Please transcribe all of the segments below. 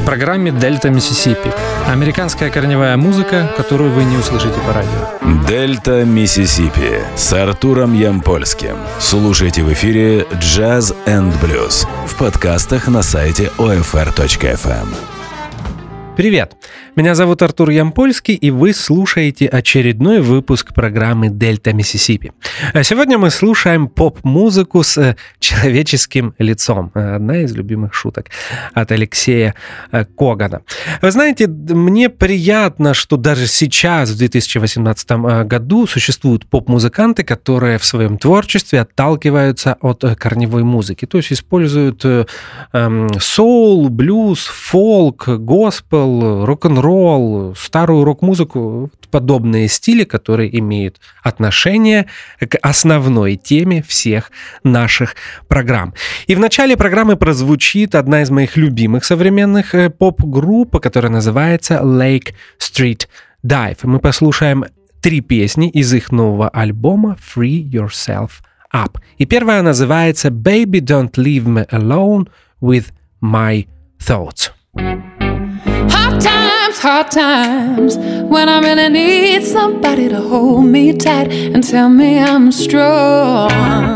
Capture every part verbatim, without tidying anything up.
программе «Дельта Миссисипи». Американская корневая музыка, которую вы не услышите по радио. «Дельта Миссисипи» с Артуром Ямпольским. Слушайте в эфире «Джаз энд блюз» в подкастах на сайте о эф эр точка эф эм. Привет! Меня зовут Артур Ямпольский, и вы слушаете очередной выпуск программы «Дельта Миссисипи». Сегодня мы слушаем поп-музыку с человеческим лицом. Одна из любимых шуток от Алексея Когана. Вы знаете, мне приятно, что даже сейчас, в две тысячи восемнадцатом году, существуют поп-музыканты, которые в своем творчестве отталкиваются от корневой музыки. То есть используют эм, соул, блюз, фолк, госпел, рок-н-ролл, старую рок-музыку, подобные стили, которые имеют отношение к основной теме всех наших программ. И в начале программы прозвучит одна из моих любимых современных поп-групп, которая называется Lake Street Dive. Мы послушаем три песни из их нового альбома Free Yourself Up. И первая называется Baby Don't Leave Me Alone With My Thoughts. Hard times, hard times, when I really need somebody to hold me tight and tell me I'm strong.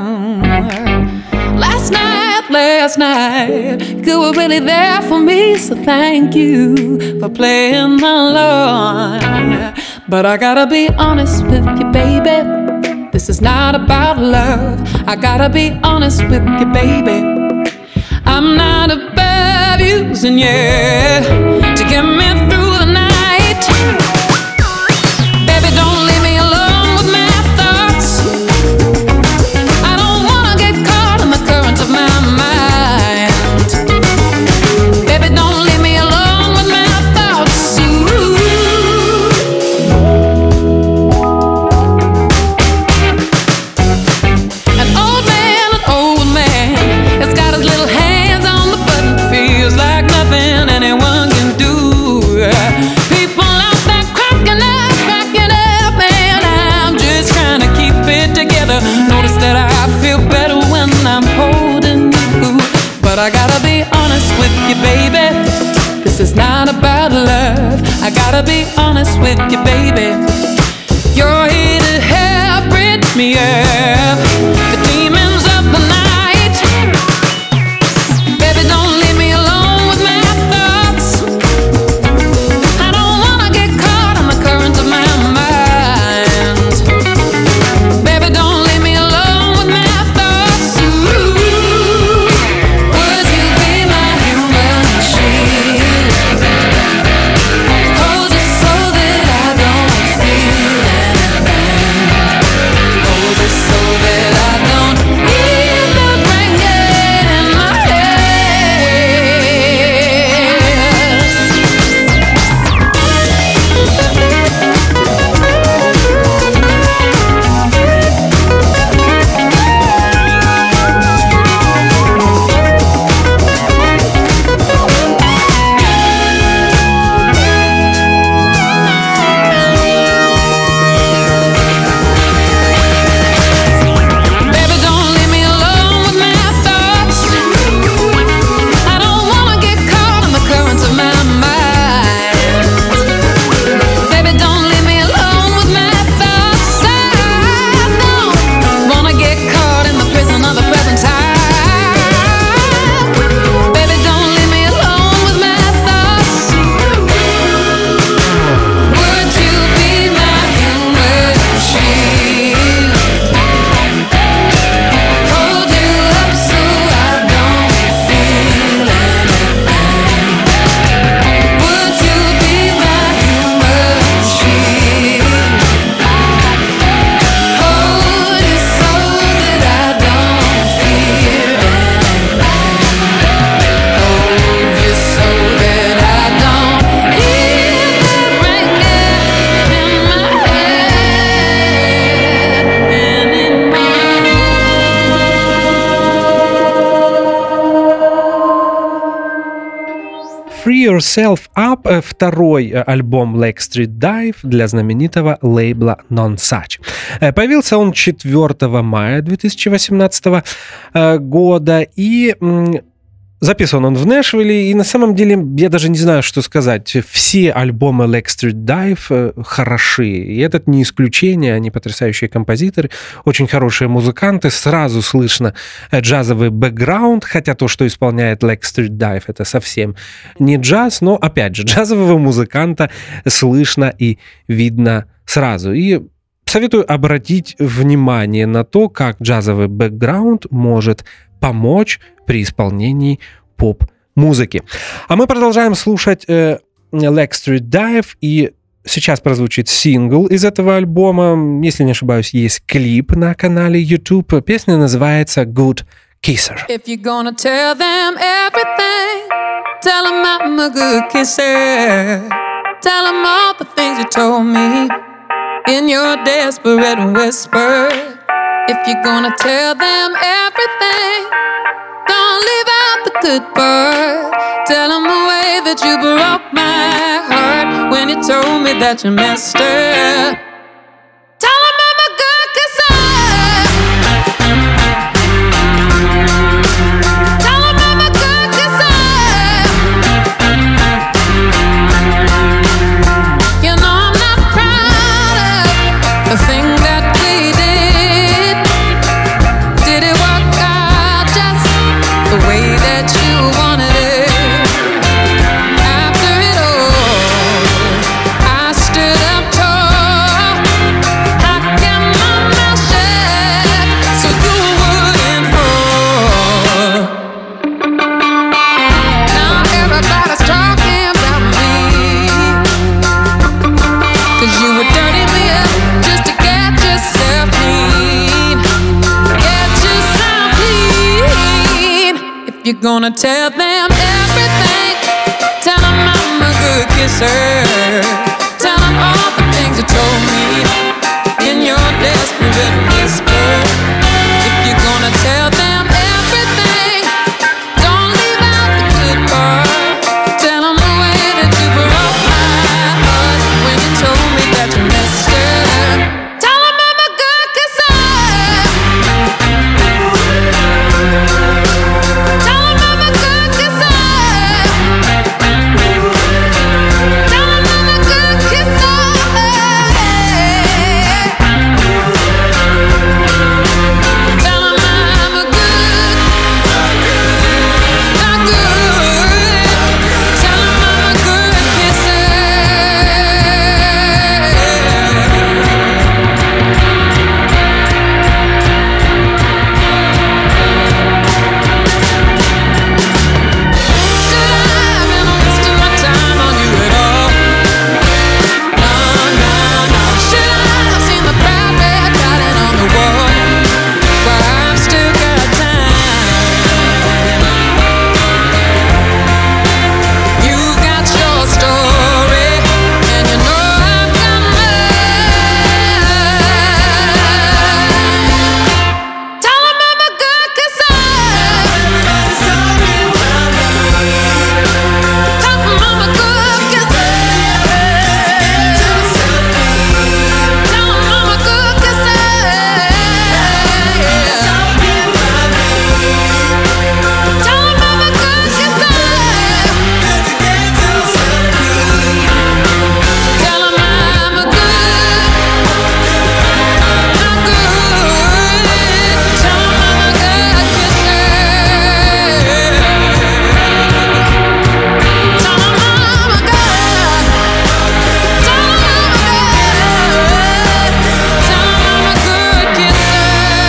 Last night, last night, you were really there for me, so thank you for playing along. But I gotta be honest with you, baby, this is not about love. I gotta be honest with you, baby, I'm not above using you to get me through the night. Baby, don't leave me alone with my thoughts. I don't wanna get caught in the current of my mind. Baby, don't leave me alone with my thoughts. Ooh. An old man, an old man has got his little hand like nothing anyone can do. People out there cracking up, cracking up, and I'm just trying to keep it together. Notice that I feel better when I'm holding you. But I gotta be honest with you, baby, this is not about love. I gotta be honest with you, baby, you're here to help bridge me up the demons of the night. Baby, don't leave me alone. Free Yourself Up — второй альбом Lake Street Dive для знаменитого лейбла Nonesuch. Появился он четвёртого мая две тысячи восемнадцатого года, и Записан он в Нэшвилле, и на самом деле я даже не знаю, что сказать. Все альбомы Lake Street Dive хороши, и этот не исключение, они потрясающие композиторы, очень хорошие музыканты, сразу слышно джазовый бэкграунд, хотя то, что исполняет Lake Street Dive, это совсем не джаз, но, опять же, джазового музыканта слышно и видно сразу. И советую обратить внимание на то, как джазовый бэкграунд может помочь при исполнении поп-музыки. А мы продолжаем слушать э, Lake Street Dive, и сейчас прозвучит сингл из этого альбома. Если не ошибаюсь, есть клип на канале YouTube. Песня называется Good Kisser. If you're gonna tell them everything, tell them I'm a good kisser. Tell them all the things you told me in your desperate whisper. If you're gonna tell them everything, don't leave out the good part. Tell them the way that you broke my heart when you told me that you messed up. Tell them I'm a good kisser. Tell them I'm a good kisser. You know I'm not proud of the thing that we did. Did it work out just the way that you wanted it? After it all, I stood up tall. I kept my mouth shut so you wouldn't fall. Now everybody's talking about me, 'cause you would dirty me up just to get yourself clean. Get yourself clean. If you're gonna tell them everything, tell them I'm a good kisser. Tell them all the things you told me in your desperate whisper. If you're gonna tell them everything, don't leave out the good part. Tell them the way that you broke my heart when you told me that you messed up. Tell them I'm a good kisser. Tell them I'm a good kisser. Tell them I'm a good kisser. Tell them I'm a good, not good. Tell them I'm a good kisser. Should I have been wasting my time on you at all? No, no, no. Should I have seen the bad red writing on the wall? Well, I've still got time. You've got your story, and you know I've got mine. Tell them I'm a good kisser. Tell them I'm a good kisser. Tell them I'm a good kisser. Tell them I'm a good kisser. Tell them I'm a good, not good. Tell them I'm a good kisser. Tell them I'm a good. Tell them I'm a good. Tell them I'm a good kisser.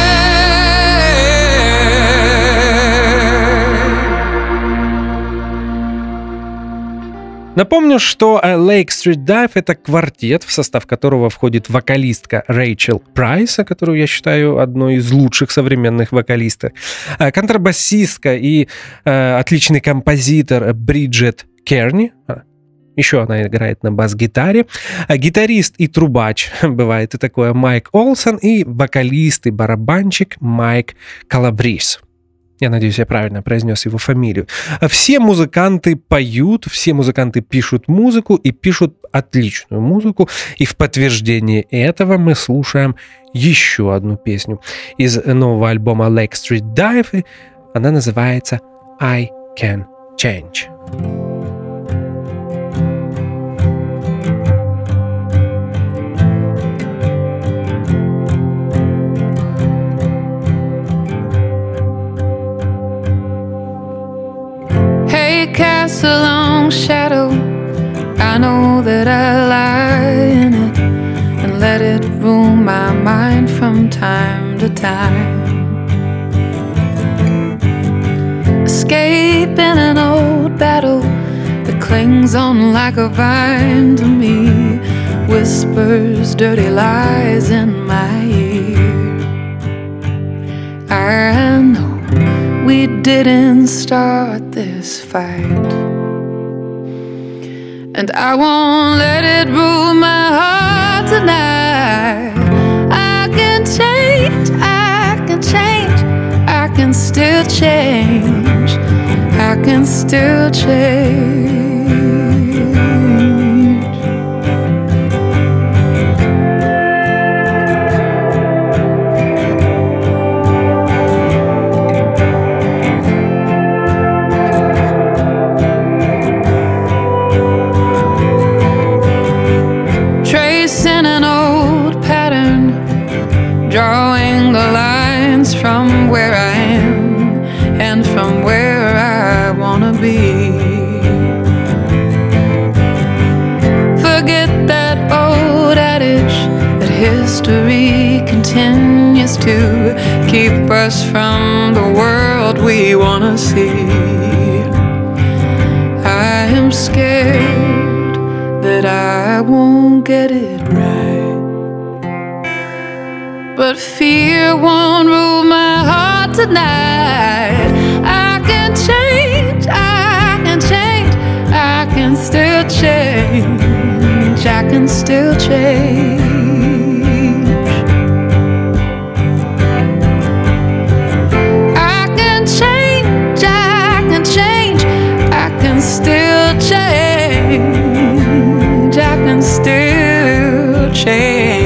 Напомню, что э, Lake Street Dive — это квартет, в состав которого входит вокалистка Рэйчел Прайс, которую я считаю одной из лучших современных вокалисток, э, контрабасистка и э, отличный композитор Бриджет Керни. А, Еще она играет на бас-гитаре. А гитарист и трубач, бывает и такое, Майк Олсон, и вокалист и барабанщик Майк Калабрис. Я надеюсь, я правильно произнес его фамилию. Все музыканты поют, все музыканты пишут музыку и пишут отличную музыку. И в подтверждение этого мы слушаем еще одну песню из нового альбома Lake Street Dive. Она называется I Can Change. Cast a long shadow, I know that I lie in it and let it rule my mind from time to time. Escaping an old battle that clings on like a vine to me, whispers dirty lies in my ear. I know we didn't start this fight, and I won't let it rule my heart tonight. I can change, I can change, I can still change, I can still change. Drawing the lines from where I am and from where I wanna be. Forget that old adage that history continues to keep us from the world we wanna see. I am scared that I won't get it right, but fear won't rule my heart tonight. I can change, I can change, I can still change, I can still change. I can change, I can change, I can still change, I can still change.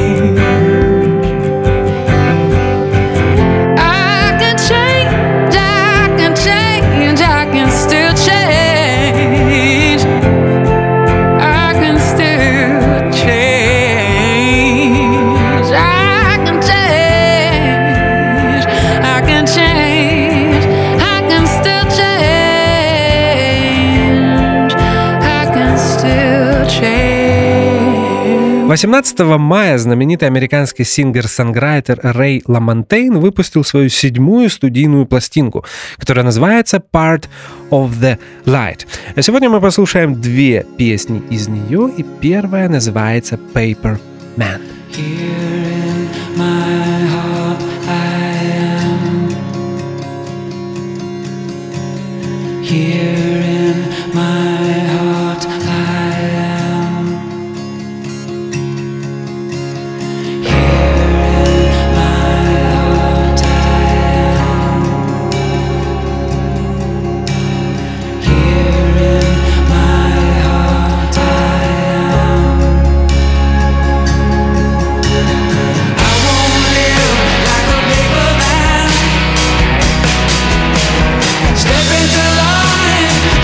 восемнадцатого мая знаменитый американский сингер-сонграйтер Рэй Ламонтейн выпустил свою седьмую студийную пластинку, которая называется Part of the Light. А сегодня мы послушаем две песни из нее, и первая называется Paper Man. Here in my heart I am. Here in my heart I am. Here in my heart I am. I won't live like a paper man. Step into line.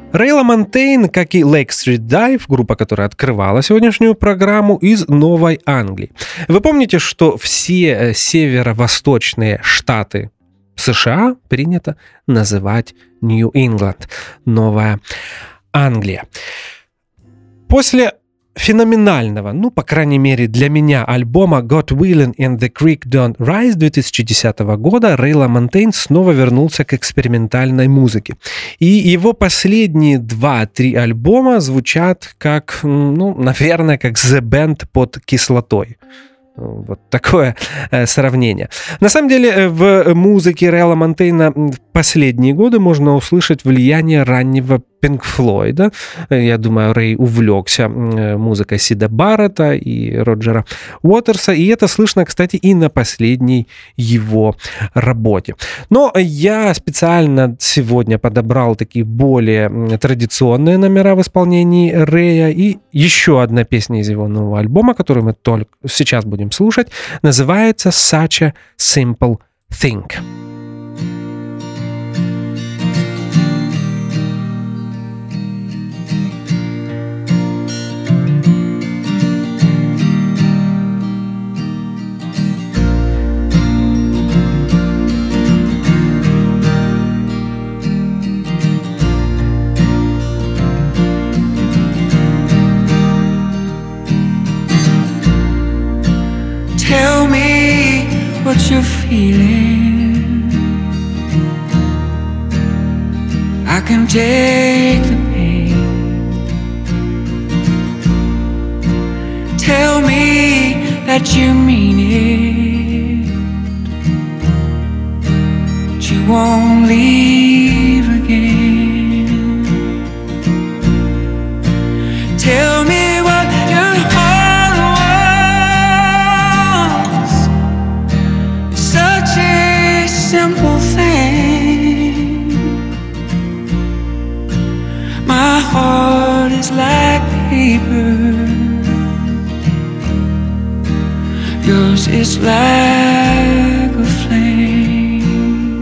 Рэй Ламонтейн, как и Lake Street Dive, группа, которая открывала сегодняшнюю программу, из Новой Англии. Вы помните, что все северо-восточные штаты США принято называть Нью-Ингланд, Новая Англия. После феноменального, ну, по крайней мере, для меня альбома God Willin' and the Creek Don't Rise две тысячи десятого года Рэй Ламонтейн снова вернулся к экспериментальной музыке. И его последние два-три альбома звучат как, ну, наверное, как The Band под кислотой. Вот такое э, сравнение. На самом деле в музыке Рэя Ламонтейна в последние годы можно услышать влияние раннего Пинк Флойда. Я думаю, Рэй увлекся музыкой Сида Баррета и Роджера Уотерса, и это слышно, кстати, и на последней его работе. Но я специально сегодня подобрал такие более традиционные номера в исполнении Рэя, и еще одна песня из его нового альбома, которую мы только сейчас будем слушать, называется «Such a Simple Thing». Tell me what you're feeling. I can take the pain. Tell me that you mean it, that you won't leave again. Tell me what your heart wants. Such a simple thing. My heart is like paper, yours is like a flame.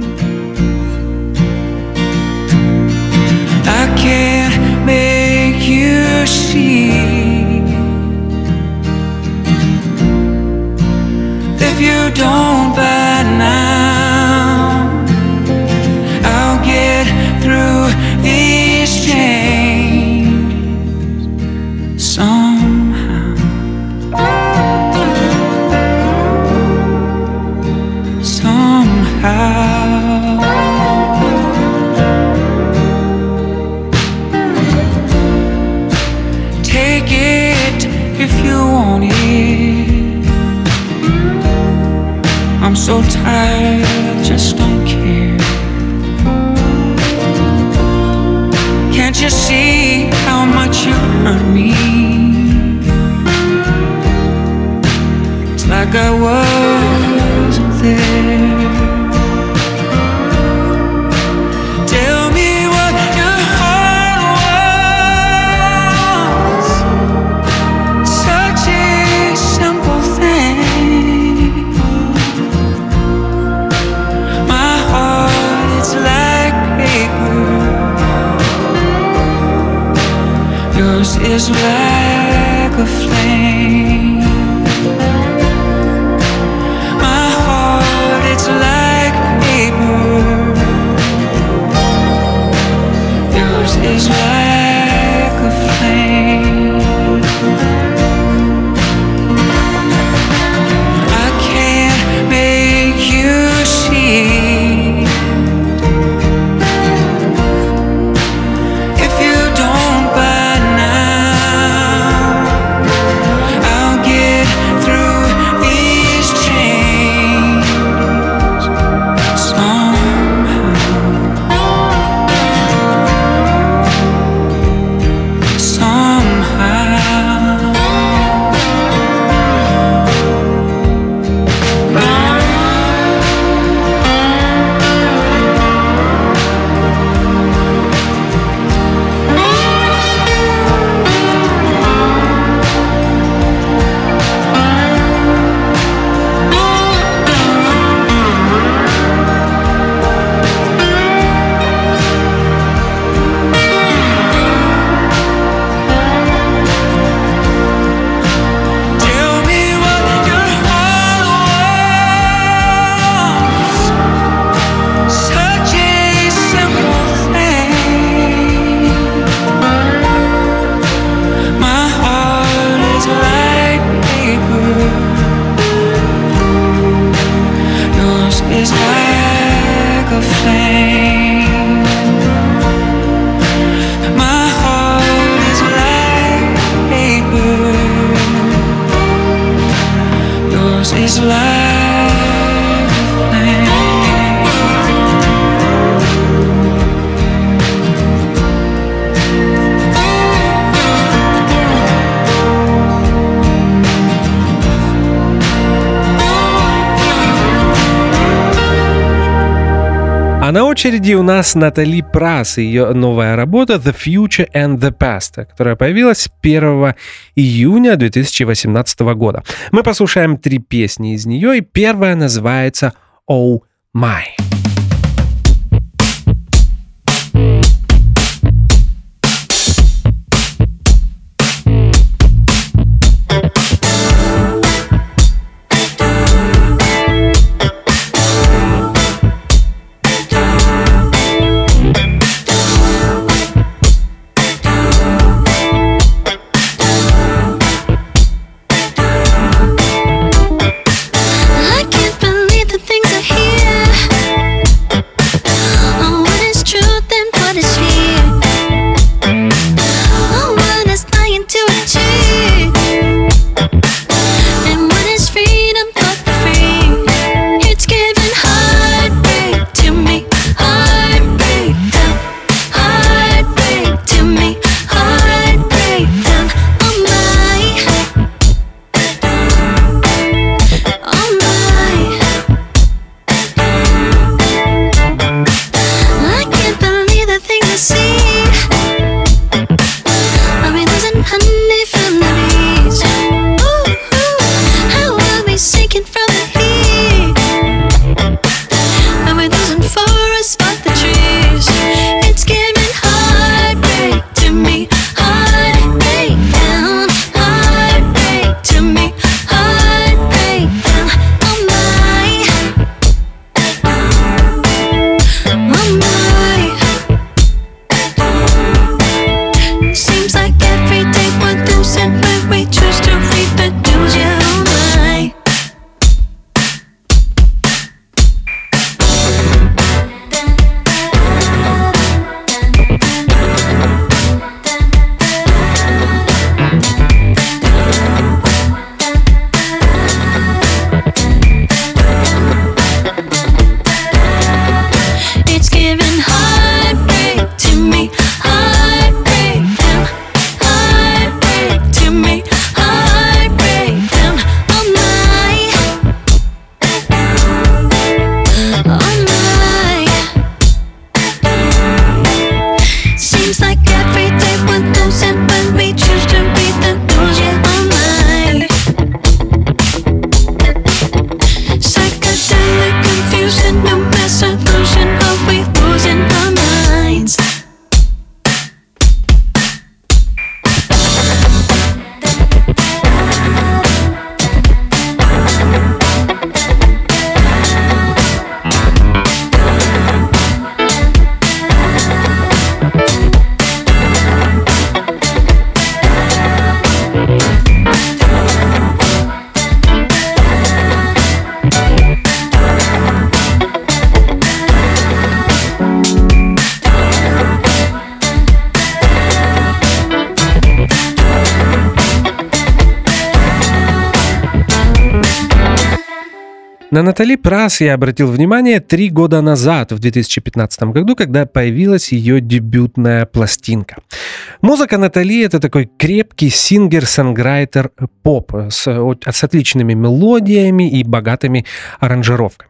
I can't make you see if you don't by now. I'll get through these changes somehow. Somehow. Take it if you want it. I'm so tired, I just don't care. Can't you see how much you hurt me? It's like I wasn't there. Tell me what your heart wants. Such a simple thing. My heart is like paper, yours is like a flame. My heart, it's like paper, yours is like a flame. I can't make you see if you don't by now. I'll get through these chains somehow. is life a thing? А на очереди у нас Натали Прасс и ее новая работа «The Future and the Past», которая появилась первого июня две тысячи восемнадцатого года. Мы послушаем три песни из нее, и первая называется «Oh My». На Натали Прасс я обратил внимание три года назад, в две тысячи пятнадцатом году, когда появилась ее дебютная пластинка. Музыка Натали — это такой крепкий сингер-сонграйтер поп с, с отличными мелодиями и богатыми аранжировками.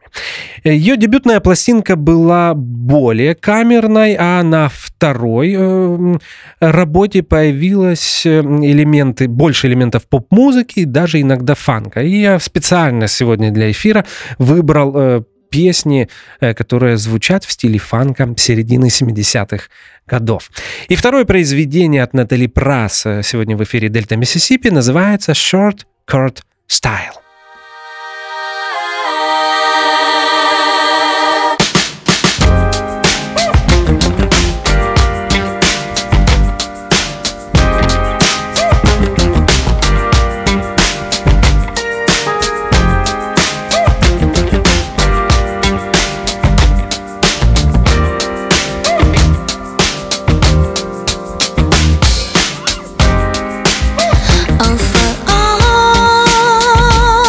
Ее дебютная пластинка была более камерной, а на второй э, работе появились элементы, больше элементов поп-музыки, даже иногда фанка. И я специально сегодня для эфира выбрал э, песни, э, которые звучат в стиле фанка середины семидесятых годов. И второе произведение от Натали Прасс сегодня в эфире Дельта Миссисипи называется «Short Court Style». Oh, for all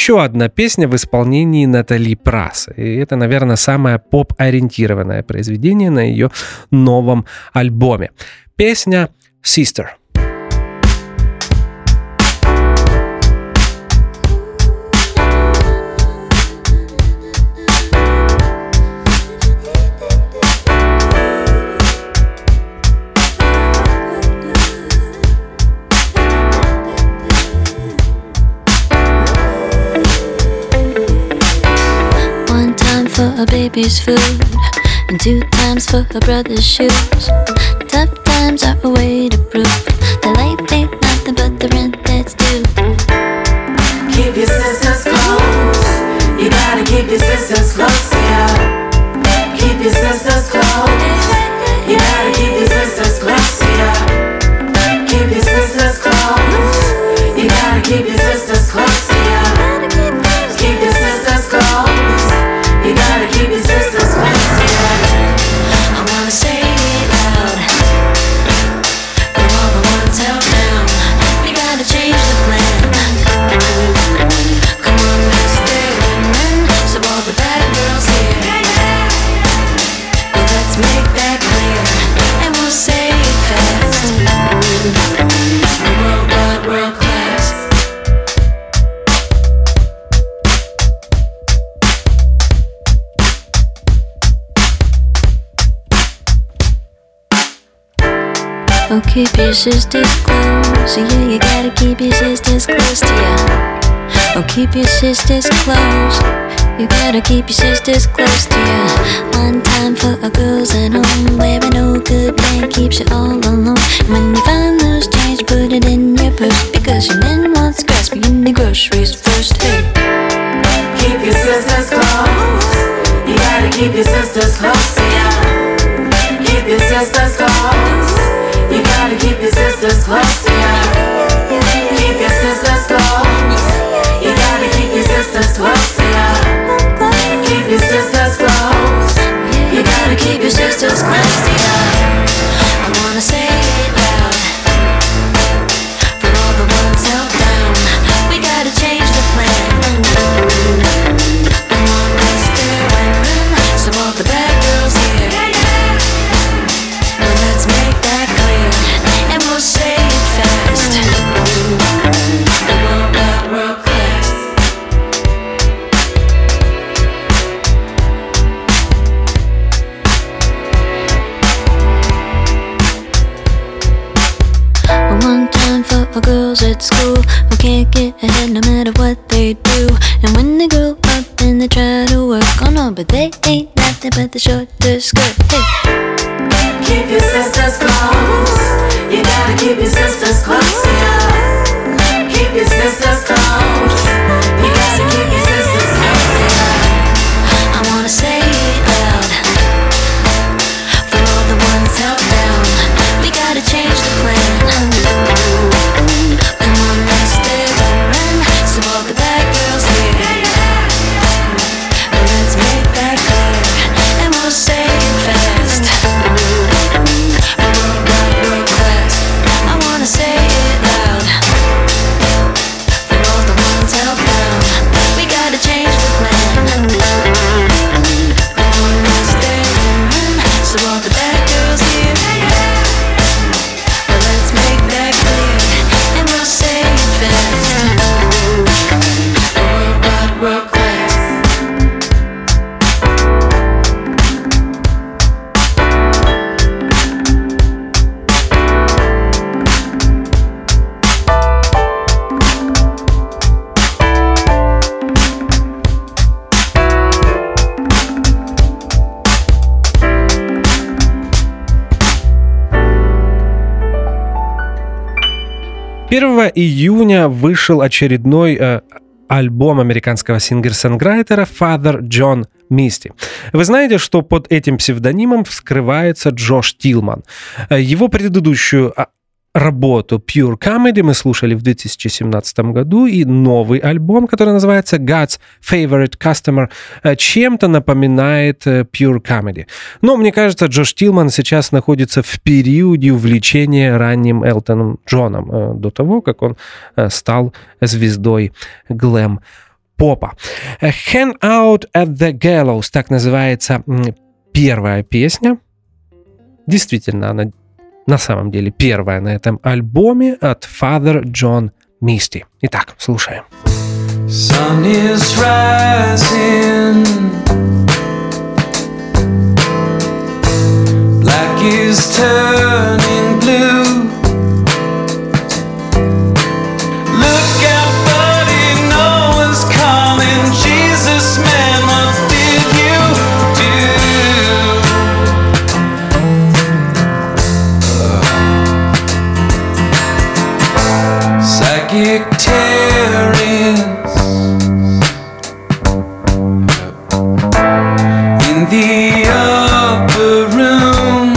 еще одна песня в исполнении Натали Прасс. И это, наверное, самое поп-ориентированное произведение на ее новом альбоме. Песня «Sister». A baby's food, and two times for her brother's shoes. Tough times are a way to prove that life ain't nothing but the rent that's due. Keep your sisters close. You gotta keep your sisters close to you. Keep your sisters close. You gotta keep your sisters close to you. Keep your sisters close. You gotta keep your sisters close to you. Keep your sisters close. You gotta keep your sisters close to you. I wanna say it loud for all the ones held down. We gotta change the plan. Come on, let's stay women. So all the bad girls here, well, let's make that clear, and we'll say it fast. World wide, world class. Oh, keep your sisters close. Yeah, you gotta keep your sisters close to ya. Oh, keep your sisters close. You gotta keep your sisters close to ya. One time for a girls at home, where no good man keeps you all alone. When you find loose change, put it in your purse, because your man wants grasping in the groceries first. Hey, keep your sisters close. You gotta keep your sisters close to ya. Keep your sisters close. You gotta keep your sisters close to you. Keep your sisters close. You gotta keep your sisters close to you. Keep your sisters close. You gotta keep your sisters close to you. I wanna say it loud for all the ones held down. We gotta change the plan. Come on, let's stay women. So all the bad girls here, well, let's make that clear, and we'll say it fast. The world wide, world class. One time for our girls at school who can't get ahead no matter what they do. And when they grow up then they try to work, oh no, but they ain't nothing but the shorter skirt. Hey, keep your sisters close. You gotta keep your sisters close to you. Keep your sisters close. You gotta keep your sisters close to you. I wanna say it loud for all the ones held down. We gotta change the plan. Come on, let's stay women. So all the bad girls here, well, let's make that clear, and we'll say it fast. World wide, world class. I wanna say it loud for all the ones held down. We gotta change the plan. Come on, let's stay women. So all the bad girls here, well, let's make that clear, and we'll say it fast. World wide, world class. первого июня вышел очередной э, альбом американского сингер-сонграйтера Father John Misty. Вы знаете, что под этим псевдонимом скрывается Джош Тилман. Его предыдущую работу Pure Comedy мы слушали в две тысячи семнадцатом году, и новый альбом, который называется God's Favorite Customer, чем-то напоминает Pure Comedy. Но мне кажется, Джош Тилман сейчас находится в периоде увлечения ранним Элтоном Джоном, до того, как он стал звездой глэм попа. «Hang Out at the Gallows» — так называется первая песня. Действительно, она на самом деле первая на этом альбоме от Father John Misty. Итак, слушаем. Sun is rising, black is turning blue. Look out, buddy, no one's coming. Jesus, man, what did you do? Uh, psychic tearing the upper room.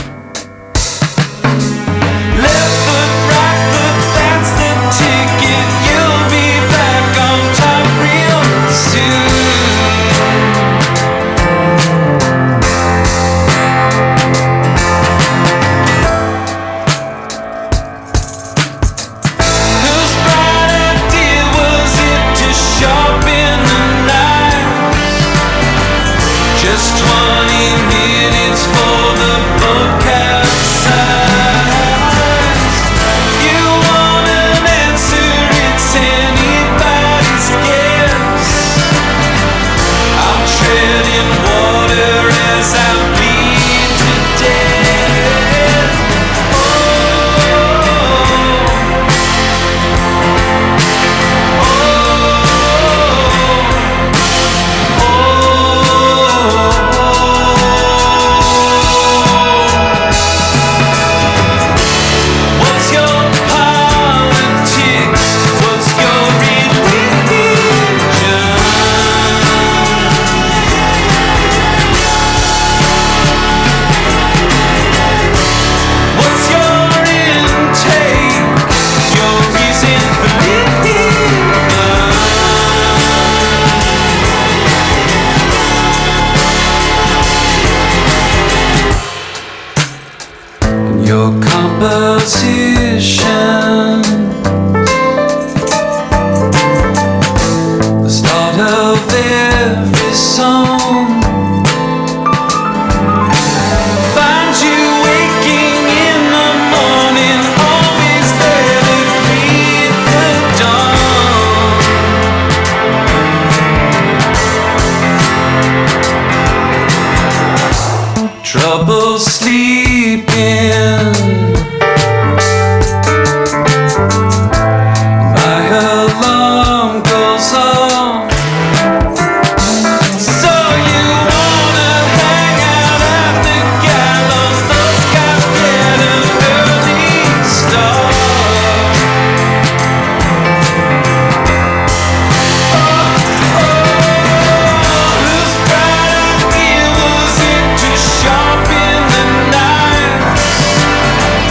Left foot, right foot, that's the ticket. You'll be back on top real Whose bright idea was it to sharpen the knives? Just twenty minutes for the boat capsize. You want an answer, it's anybody's guess. I'm treading water as I bleed to death. Oh, what's your politics? What's your religion? What's your intake? Your reason for living? Your composition, the start of every song, find you waking in the morning, always there to greet the dawn. Trouble sleeping, my alarm goes off. So you wanna hang out at the gallows? Those guys get an early start. Whose bright idea was it to sharpen the knives?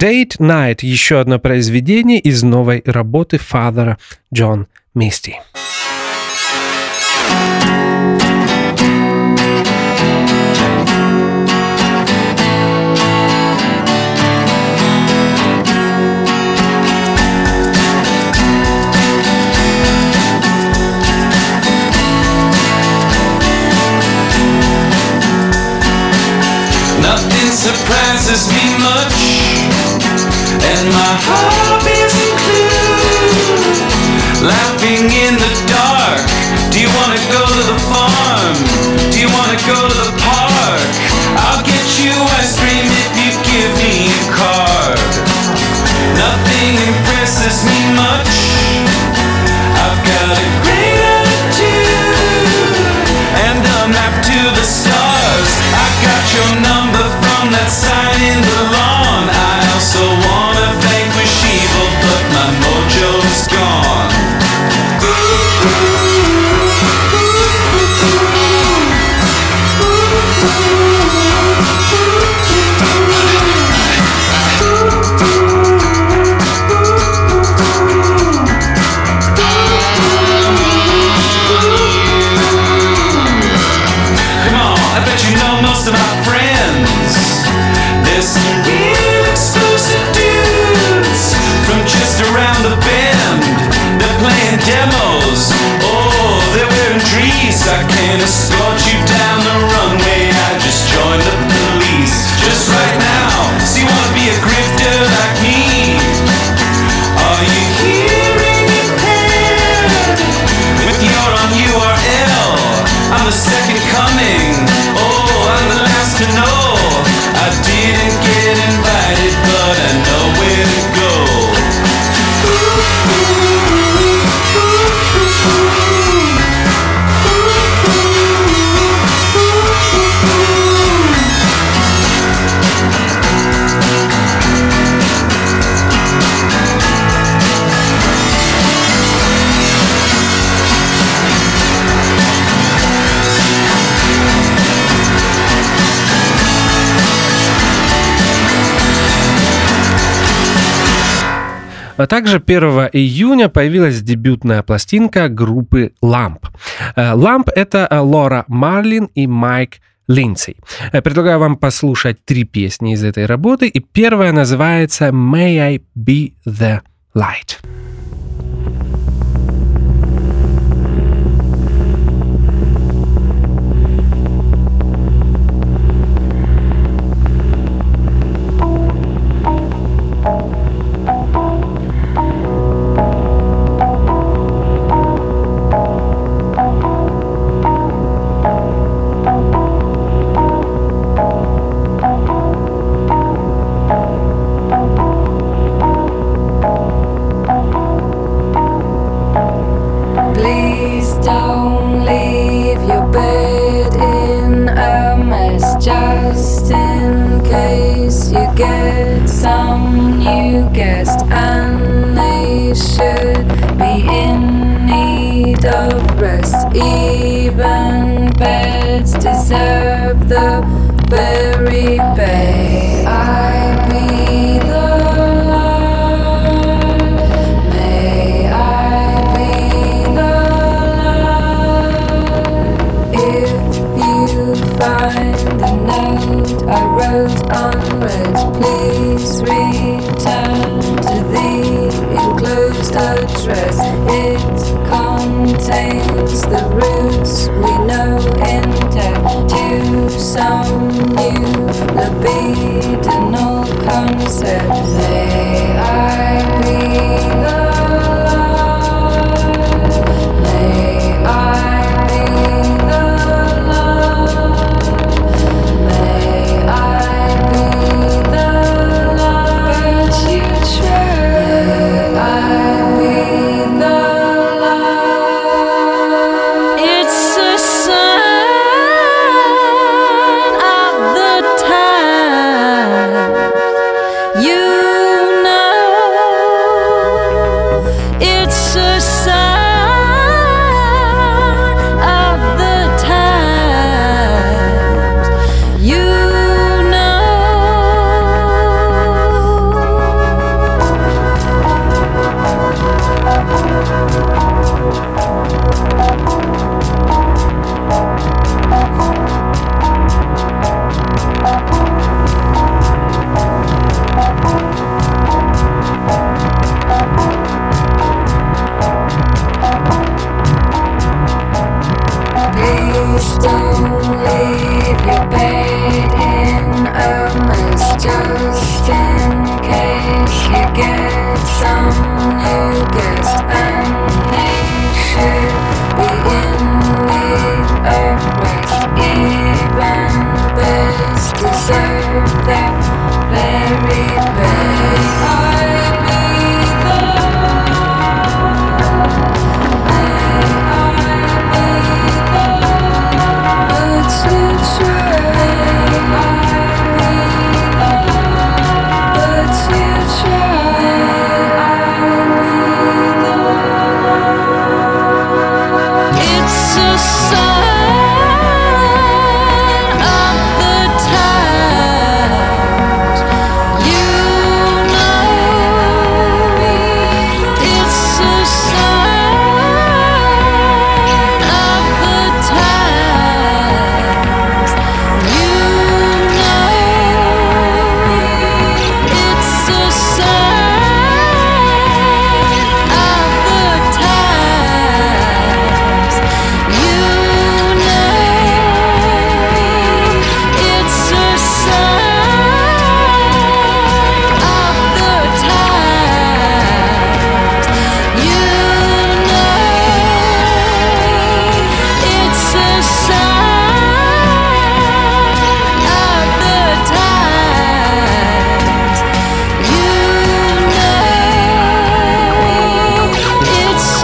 Date Night — еще одно произведение из новой работы Father John Misty. Nothing surprises me much, and my hobbies include laughing in the dark. Do you wanna go to the farm? Do you wanna go to the park? I'll get you ice cream if you give me a card. Nothing impresses me much. I've got a great attitude and a map to the stars. I got your number from that sign in the lawn. I also wanna vanquish evil, but my mojo's gone. Come on, I bet you know most of my friends. There's some real exclusive dudes from just around the bend. They're playing demos. Oh, they're wearing trees. I can't escort you down the runway. I just joined the police just right now. So you wanna be a grifter like me? Are you hearing impaired? With your on U R L, I'm the second coming. Oh, I'm the last to know. I didn't get invited, but I know where to go. А также первого июня появилась дебютная пластинка группы Lamp. Lamp — это Лора Марлин и Майк Линдси. Предлагаю вам послушать три песни из этой работы, и первая называется «May I Be The Light». Please don't leave your bed in a mess, just in case you get some new guest, and they should be in need of rest. Even beds deserve the very bay. I be the light. May I be the light. If you find the note I wrote unread, please return to the enclosed address. It contains the roots we know in depth to some new libidinal concept. May I be the light. May I be the light. May I be the light. But you try. May I be the light. It's a sign of the time. You know serve them very may I be the may I be the but to try but to try it's a sign of the times. You know, it's a sign of the times. You know, it's a sign of the times. You know, it's a sign of the times. You know, it's a sign of the times. You know, it's a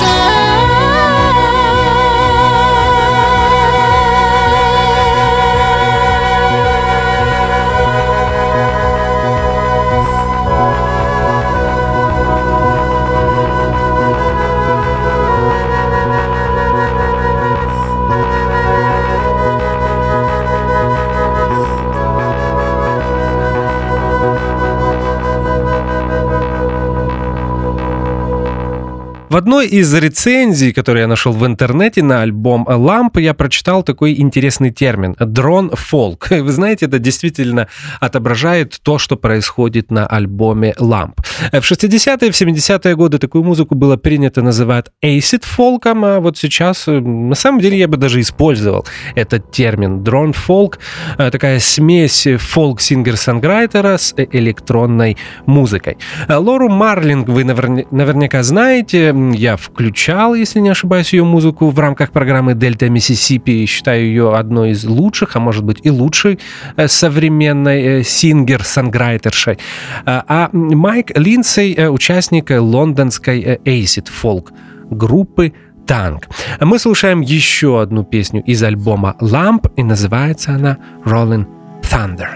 В одной из рецензий, которые я нашел в интернете на альбом Lamp, я прочитал такой интересный термин – дрон-фолк. Вы знаете, это действительно отображает то, что происходит на альбоме Lamp. В шестидесятые, в семидесятые годы такую музыку было принято называть acid-фолком, а вот сейчас, на самом деле, я бы даже использовал этот термин – дрон-фолк. Такая смесь фолк-сингер-сонграйтера с электронной музыкой. Лору Марлинг вы наверняка знаете. Я включал, если не ошибаюсь, ее музыку в рамках программы «Дельта Миссисипи» и считаю ее одной из лучших, а может быть и лучшей современной сингер-сонграйтершей. А Майк Линдсей — участник лондонской acid-фолк группы «Танк». Мы слушаем еще одну песню из альбома «Lamp», и называется она «Rolling Thunder».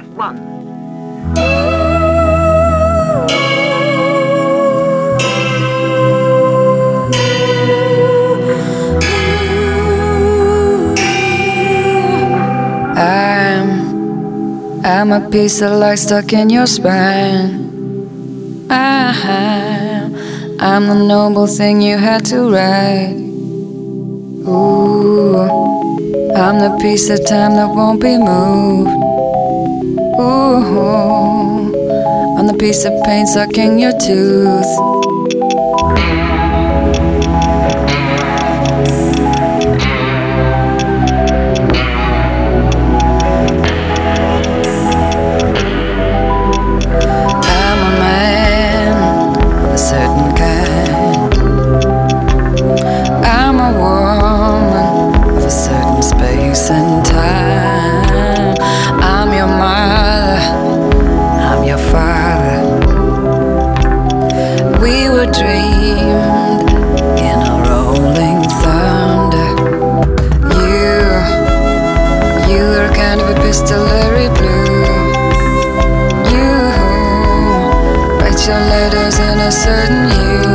I'm, I'm a piece of light stuck in your spine. I'm, I'm the noble thing you had to write. Ooh, I'm the piece of time that won't be moved. Ooh, I'm the piece of pain stuck in your tooth. And time. I'm your mother, I'm your father. We were dreamed in a rolling thunder. You, you are kind of epistolary blue. You write your letters in a certain hue.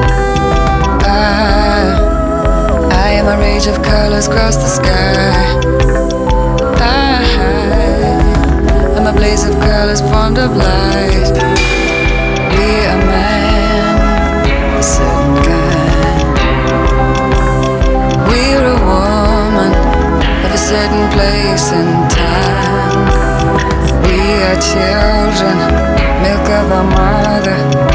I, I am a rage of colors across the sky. A blaze of colors formed of light. Be a man of a certain kind. We're a woman of a certain place and time. We are children, milk of our mother.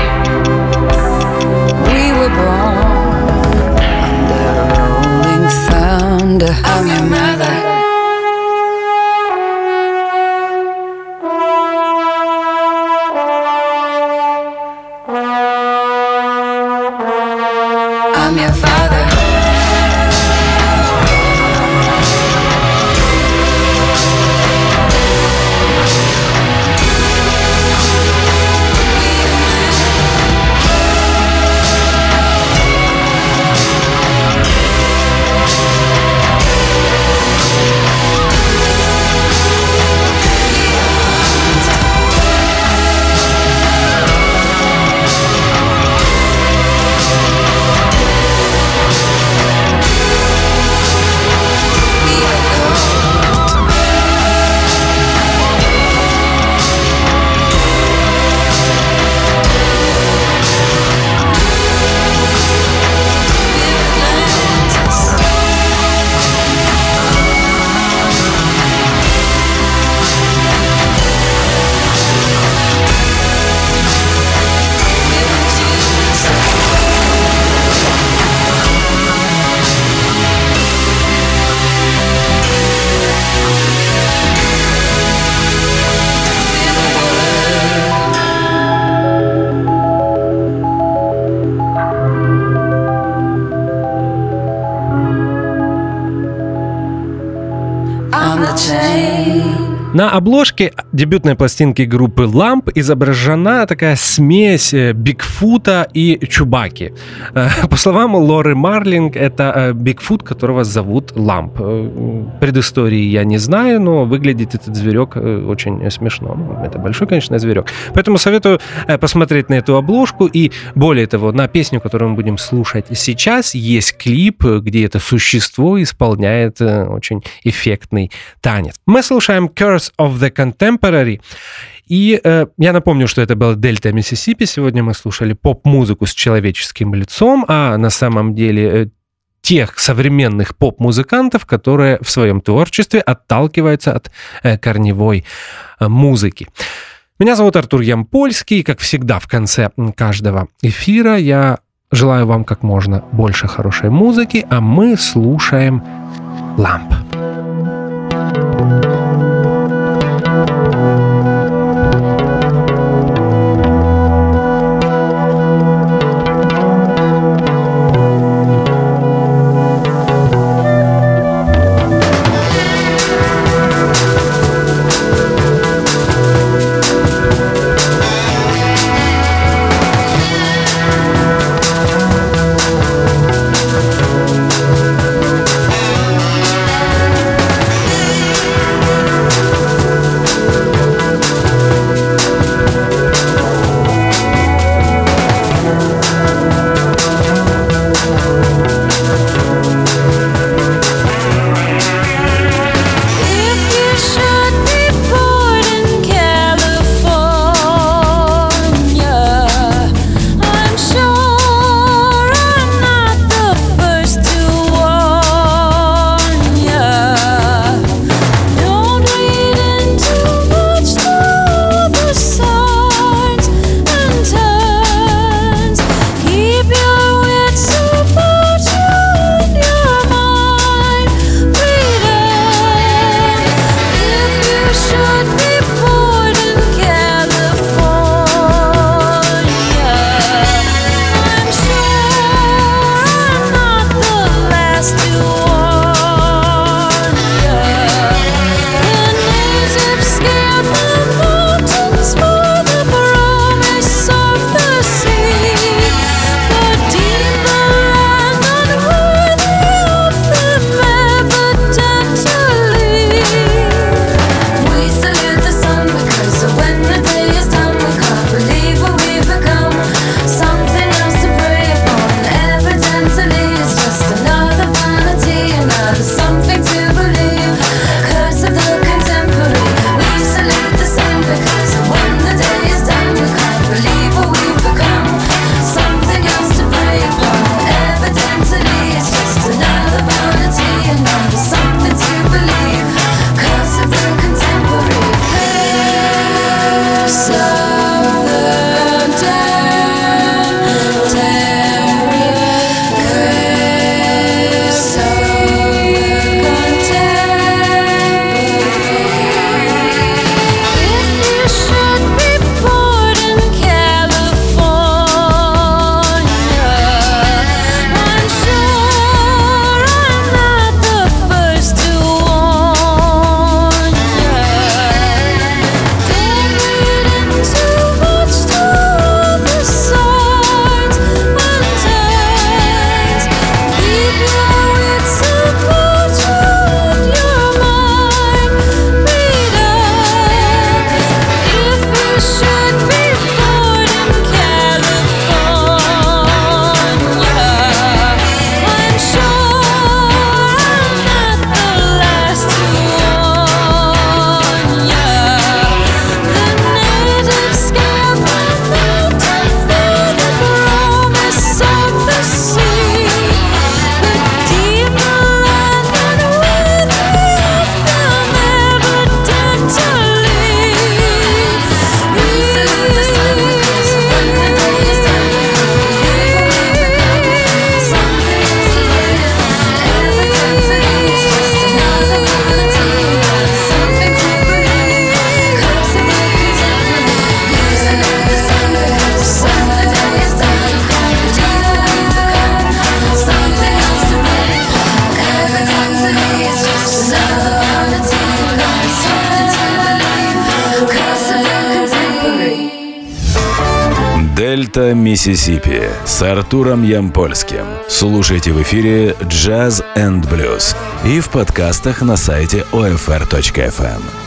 We were born under rolling thunder. I'm your mother. I'm your father. На обложке дебютной пластинки группы Lamp изображена такая смесь Бигфута и Чубаки. По словам Лоры Марлинг, это Бигфут, которого зовут Ламп. Предыстории я не знаю, но выглядит этот зверек очень смешно. Это большой, конечно, зверек. Поэтому советую посмотреть на эту обложку. И более того, на песню, которую мы будем слушать сейчас, есть клип, где это существо исполняет очень эффектный танец. Мы слушаем Curse of the Contemporary. И э, я напомню, что это была Дельта Миссисипи. Сегодня мы слушали поп-музыку с человеческим лицом, а на самом деле э, тех современных поп-музыкантов, которые в своем творчестве отталкиваются от э, корневой э, музыки. Меня зовут Артур Ямпольский, и, как всегда, в конце каждого эфира я желаю вам как можно больше хорошей музыки, а мы слушаем Lamp. Thank Дельта Миссисипи с Артуром Ямпольским. Слушайте в эфире Jazz энд Blues и в подкастах на сайте о эф эр точка эф эм.